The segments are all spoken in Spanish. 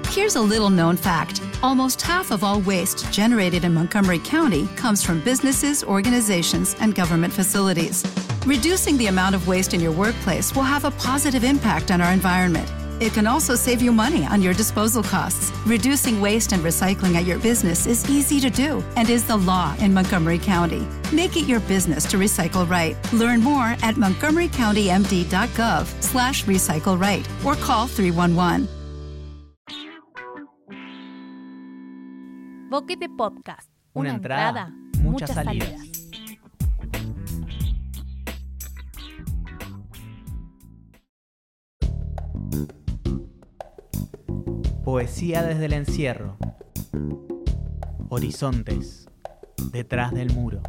Here's a little-known fact. Almost half of all waste generated in Montgomery County comes from businesses, organizations, and government facilities. Reducing the amount of waste in your workplace will have a positive impact on our environment. It can also save you money on your disposal costs. Reducing waste and recycling at your business is easy to do and is the law in Montgomery County. Make it your business to recycle right. Learn more at montgomerycountymd.gov/recycle right or call 311. Boquete Podcast. Una entrada, muchas salidas. Poesía desde el encierro. Horizontes detrás del muro.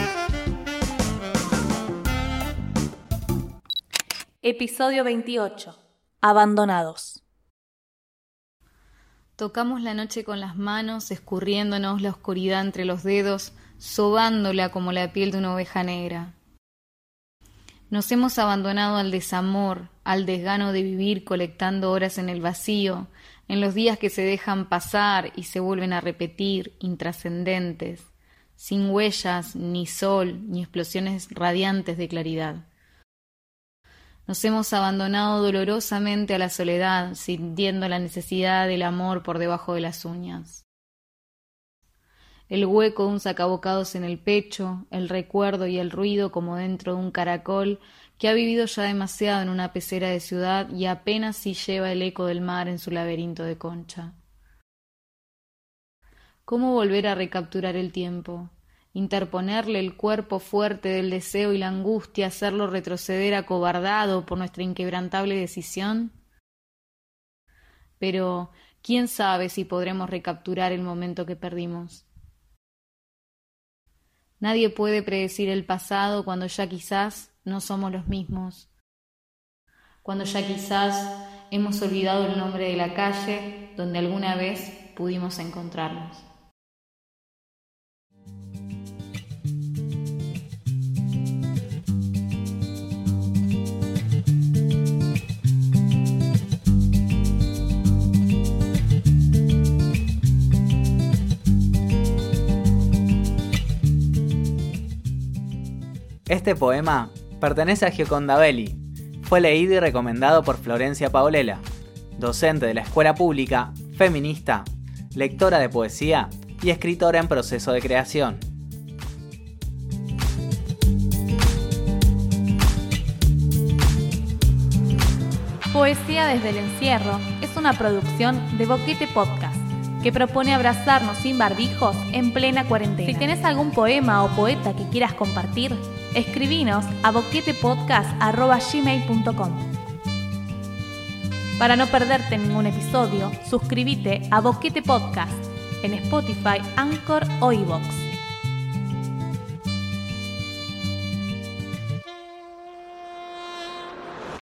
Episodio 28. Abandonados. Tocamos la noche con las manos, escurriéndonos la oscuridad entre los dedos, sobándola como la piel de una oveja negra. Nos hemos abandonado al desamor, al desgano de vivir colectando horas en el vacío, en los días que se dejan pasar y se vuelven a repetir, intrascendentes, sin huellas, ni sol, ni explosiones radiantes de claridad. Nos hemos abandonado dolorosamente a la soledad, sintiendo la necesidad del amor por debajo de las uñas. El hueco de un sacabocados en el pecho, el recuerdo y el ruido como dentro de un caracol que ha vivido ya demasiado en una pecera de ciudad y apenas si lleva el eco del mar en su laberinto de concha. ¿Cómo volver a recapturar el tiempo? Interponerle el cuerpo fuerte del deseo y la angustia, hacerlo retroceder acobardado por nuestra inquebrantable decisión. Pero, ¿quién sabe si podremos recapturar el momento que perdimos? Nadie puede predecir el pasado cuando ya quizás no somos los mismos. Cuando ya quizás hemos olvidado el nombre de la calle donde alguna vez pudimos encontrarnos. Este poema pertenece a Gioconda Belli. Fue leído y recomendado por Florencia Paolela, docente de la escuela pública, feminista, lectora de poesía y escritora en proceso de creación. Poesía desde el encierro es una producción de Boquete Podcast que propone abrazarnos sin barbijos en plena cuarentena. Si tenés algún poema o poeta que quieras compartir, escribinos a boquetepodcast@gmail.com. Para no perderte ningún episodio, suscríbete a Boquete Podcast en Spotify, Anchor o iVoox.